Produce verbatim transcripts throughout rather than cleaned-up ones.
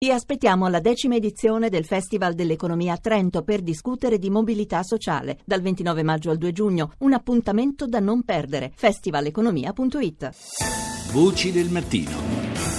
Vi aspettiamo alla decima edizione del Festival dell'Economia a Trento per discutere di mobilità sociale. Dal ventinove maggio al due giugno, un appuntamento da non perdere. festivaleconomia punto it. Voci del mattino.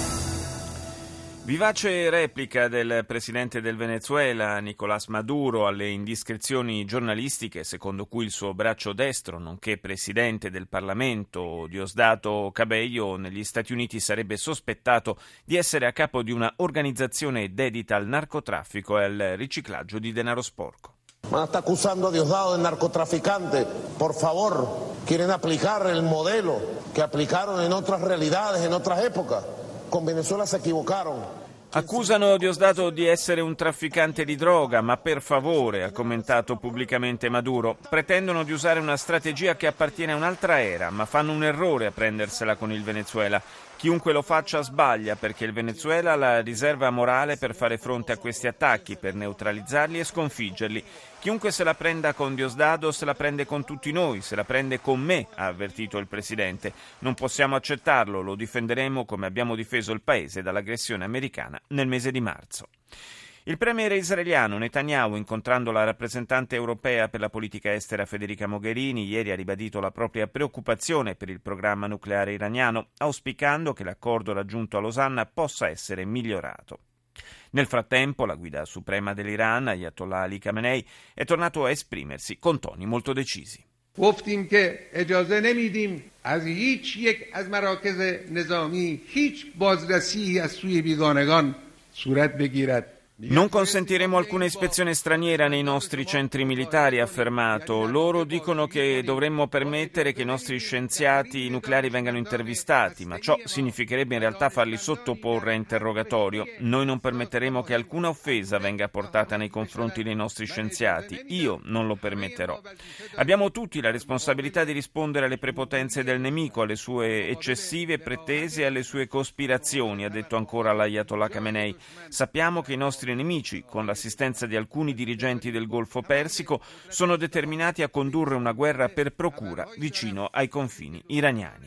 Vivace replica del presidente del Venezuela, Nicolás Maduro, alle indiscrezioni giornalistiche secondo cui il suo braccio destro, nonché presidente del Parlamento, Diosdado Cabello, negli Stati Uniti sarebbe sospettato di essere a capo di una organizzazione dedita al narcotraffico e al riciclaggio di denaro sporco. Ma sta accusando a Diosdado del narcotraficante. Por favor, quieren aplicar el modelo que aplicaron en otras realidades, en otras épocas. Con Venezuela se equivocaron. Accusano Diosdado di essere un trafficante di droga, ma per favore, ha commentato pubblicamente Maduro, pretendono di usare una strategia che appartiene a un'altra era, ma fanno un errore a prendersela con il Venezuela. Chiunque lo faccia sbaglia, perché il Venezuela ha la riserva morale per fare fronte a questi attacchi, per neutralizzarli e sconfiggerli. Chiunque se la prenda con Diosdado se la prende con tutti noi, se la prende con me, ha avvertito il presidente. Non possiamo accettarlo, lo difenderemo come abbiamo difeso il paese dall'aggressione americana nel mese di marzo. Il premier israeliano Netanyahu, incontrando la rappresentante europea per la politica estera Federica Mogherini, ieri ha ribadito la propria preoccupazione per il programma nucleare iraniano, auspicando che l'accordo raggiunto a Losanna possa essere migliorato. Nel frattempo, la guida suprema dell'Iran, Ayatollah Ali Khamenei, è tornato a esprimersi con toni molto decisi. گفتیم که اجازه نمیدیم از هیچ یک از مراکز نظامی هیچ بازرسی از سوی بیگانگان صورت بگیرد. Non consentiremo alcuna ispezione straniera nei nostri centri militari, ha affermato. Loro dicono che dovremmo permettere che i nostri scienziati nucleari vengano intervistati, ma ciò significherebbe in realtà farli sottoporre a interrogatorio. Noi non permetteremo che alcuna offesa venga portata nei confronti dei nostri scienziati. Io non lo permetterò. Abbiamo tutti la responsabilità di rispondere alle prepotenze del nemico, alle sue eccessive pretese e alle sue cospirazioni, ha detto ancora l'Ayatollah Khamenei. Sappiamo che i nostri nemici, con l'assistenza di alcuni dirigenti del Golfo Persico, sono determinati a condurre una guerra per procura vicino ai confini iraniani.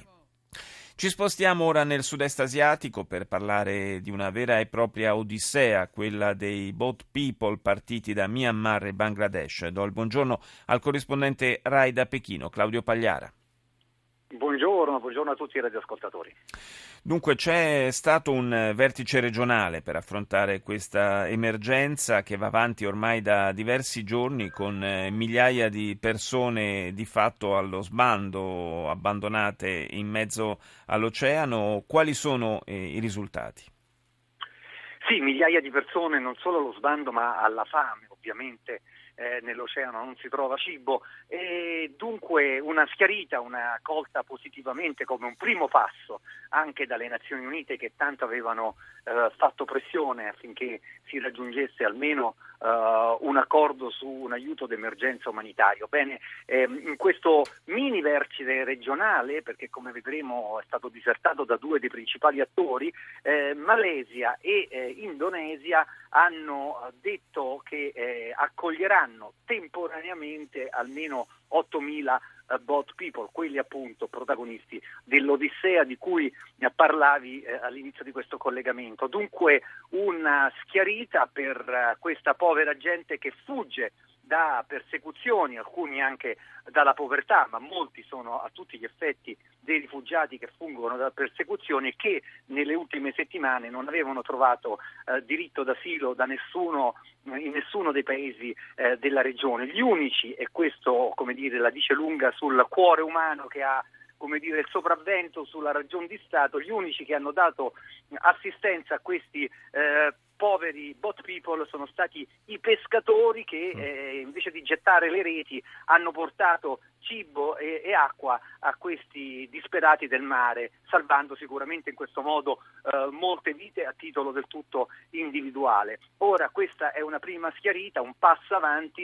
Ci spostiamo ora nel sud-est asiatico per parlare di una vera e propria odissea, quella dei boat people partiti da Myanmar e Bangladesh. Do il buongiorno al corrispondente Rai da Pechino, Claudio Pagliara. Buongiorno, buongiorno a tutti i radioascoltatori. Dunque c'è stato un vertice regionale per affrontare questa emergenza che va avanti ormai da diversi giorni con migliaia di persone di fatto allo sbando, abbandonate in mezzo all'oceano. Quali sono eh, i risultati? Sì, migliaia di persone non solo allo sbando ma alla fame, ovviamente. Eh, nell'oceano non si trova cibo e dunque una schiarita, una colta positivamente come un primo passo anche dalle Nazioni Unite che tanto avevano eh, fatto pressione affinché si raggiungesse almeno eh, un accordo su un aiuto d'emergenza umanitario. Bene, ehm, in questo mini vertice regionale, perché come vedremo è stato disertato da due dei principali attori, eh, Malesia e eh, Indonesia hanno detto che eh, accoglieranno temporaneamente almeno ottomila uh, boat people, quelli appunto protagonisti dell'Odissea di cui parlavi eh, all'inizio di questo collegamento. Dunque una schiarita per uh, questa povera gente che fugge da persecuzioni, alcuni anche dalla povertà, ma molti sono a tutti gli effetti dei rifugiati che fuggono da persecuzioni e che nelle ultime settimane non avevano trovato eh, diritto d'asilo da nessuno, in nessuno dei paesi eh, della regione. Gli unici, e questo come dire la dice lunga sul cuore umano che ha come dire il sopravvento sulla ragion di Stato, gli unici che hanno dato assistenza a questi eh, poveri boat people sono stati i pescatori che eh, invece di gettare le reti hanno portato cibo e, e acqua a questi disperati del mare, salvando sicuramente in questo modo eh, molte vite a titolo del tutto individuale. Ora questa è una prima schiarita, un passo avanti che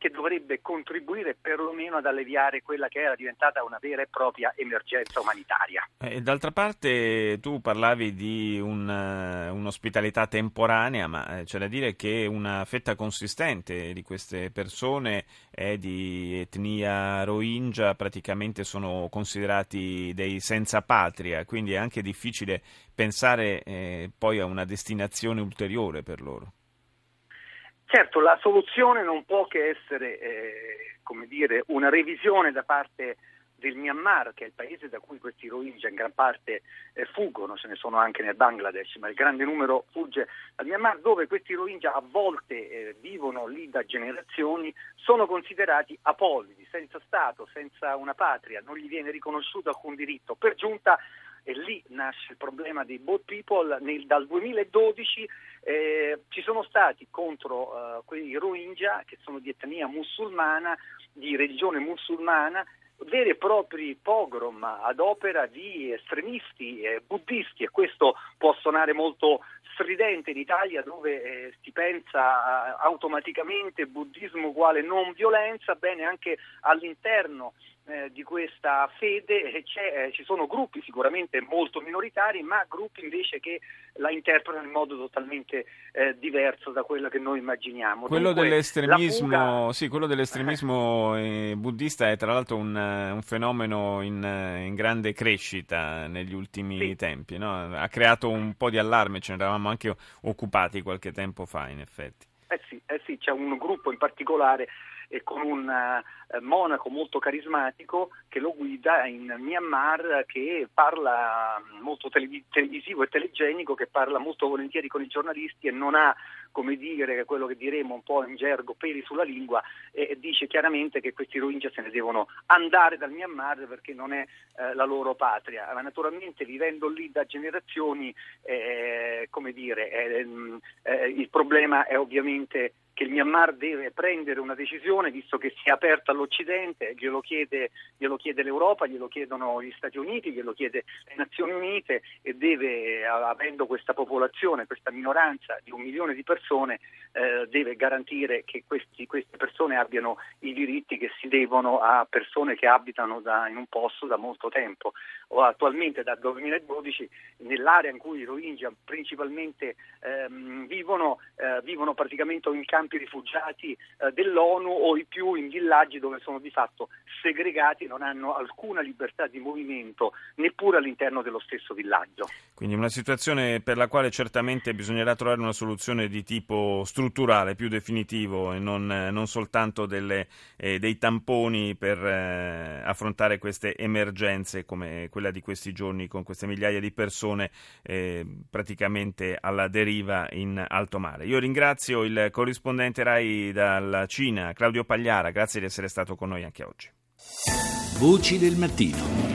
che dovrebbe contribuire perlomeno ad alleviare quella che era diventata una vera e propria emergenza umanitaria. E d'altra parte tu parlavi di un, un'ospitalità temporanea, ma c'è da dire che una fetta consistente di queste persone è di etnia Rohingya, praticamente sono considerati dei senza patria, quindi è anche difficile pensare eh, poi a una destinazione ulteriore per loro. Certo, la soluzione non può che essere, eh, come dire, una revisione da parte del Myanmar, che è il paese da cui questi Rohingya in gran parte eh, fuggono, ce ne sono anche nel Bangladesh, ma il grande numero fugge dal Myanmar, dove questi Rohingya a volte eh, vivono lì da generazioni, sono considerati apolidi, senza Stato, senza una patria, non gli viene riconosciuto alcun diritto. Per giunta, e lì nasce il problema dei boat people, nel, dal duemiladodici eh, ci sono stati contro eh, quei Rohingya, che sono di etnia musulmana, di religione musulmana, veri e propri pogrom ad opera di estremisti eh, buddisti, e questo può suonare molto stridente in Italia, dove eh, si pensa eh, automaticamente buddismo uguale non violenza. Bene, anche all'interno eh, di questa fede eh, c'è, eh, ci sono gruppi sicuramente molto minoritari, ma gruppi invece che la interpretano in modo totalmente eh, diverso da quello che noi immaginiamo. Quello Dunque, dell'estremismo, fuga... sì, quello dell'estremismo eh, buddista è tra l'altro un, un fenomeno in, in grande crescita negli ultimi sì. tempi, no? Ha creato un po' di allarme, ce ne eravamo anche occupati qualche tempo fa, in effetti. Eh sì, eh sì, c'è un gruppo in particolare e con un uh, monaco molto carismatico che lo guida in Myanmar, che parla molto televis- televisivo e telegenico, che parla molto volentieri con i giornalisti e non ha, come dire, quello che diremo un po' in gergo, peli sulla lingua, e, e dice chiaramente che questi Rohingya se ne devono andare dal Myanmar perché non è eh, la loro patria. Ma naturalmente, vivendo lì da generazioni, eh, come dire, eh, eh, il problema è ovviamente che il Myanmar deve prendere una decisione, visto che si è aperta all'Occidente, glielo chiede, glielo chiede l'Europa, glielo chiedono gli Stati Uniti, glielo chiede le Nazioni Unite, e deve, avendo questa popolazione, questa minoranza di un milione di persone, eh, deve garantire che questi, queste persone abbiano i diritti che si devono a persone che abitano da, in un posto da molto tempo. O attualmente dal duemiladodici nell'area in cui i Rohingya principalmente ehm, vivono, eh, vivono praticamente in campi rifugiati eh, dell'ONU, o i più in villaggi dove sono di fatto segregati, non hanno alcuna libertà di movimento neppure all'interno dello stesso villaggio. Quindi una situazione per la quale certamente bisognerà trovare una soluzione di tipo strutturale, più definitivo, e non, non soltanto delle, eh, dei tamponi per eh, affrontare queste emergenze come quella di questi giorni, con queste migliaia di persone eh, praticamente alla deriva in alto mare. Io ringrazio il corrispondente RAI dalla Cina, Claudio Pagliara, grazie di essere stato con noi anche oggi. Voci del mattino.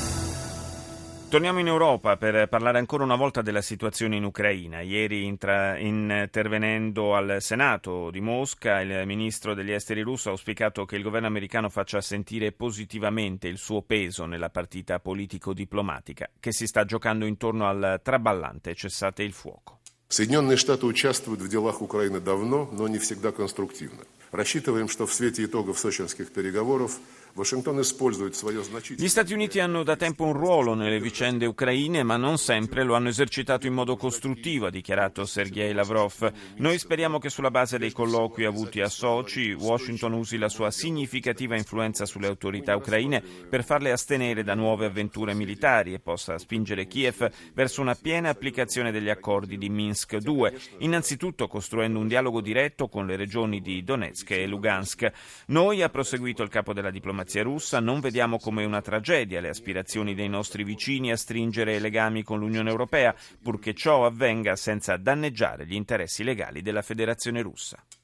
Torniamo in Europa per parlare ancora una volta della situazione in Ucraina. Ieri, intra, intervenendo al Senato di Mosca, il ministro degli esteri russo ha auspicato che il governo americano faccia sentire positivamente il suo peso nella partita politico-diplomatica che si sta giocando intorno al traballante cessate il fuoco. Соединенные Штаты участвуют в делах Украины давно, но не всегда конструктивно. Рассчитываем, что в свете итогов сочинских переговоров Washington использует свое значительное... Gli Stati Uniti hanno da tempo un ruolo nelle vicende ucraine, ma non sempre lo hanno esercitato in modo costruttivo, ha dichiarato Sergei Lavrov. Noi speriamo che sulla base dei colloqui avuti a Sochi, Washington usi la sua significativa influenza sulle autorità ucraine per farle astenere da nuove avventure militari e possa spingere Kiev verso una piena applicazione degli accordi di Minsk due, innanzitutto costruendo un dialogo diretto con le regioni di Donetsk e Lugansk. Noi, ha proseguito il capo della diplomazia russa, non vediamo come una tragedia le aspirazioni dei nostri vicini a stringere legami con l'Unione Europea, purché ciò avvenga senza danneggiare gli interessi legali della Federazione Russa.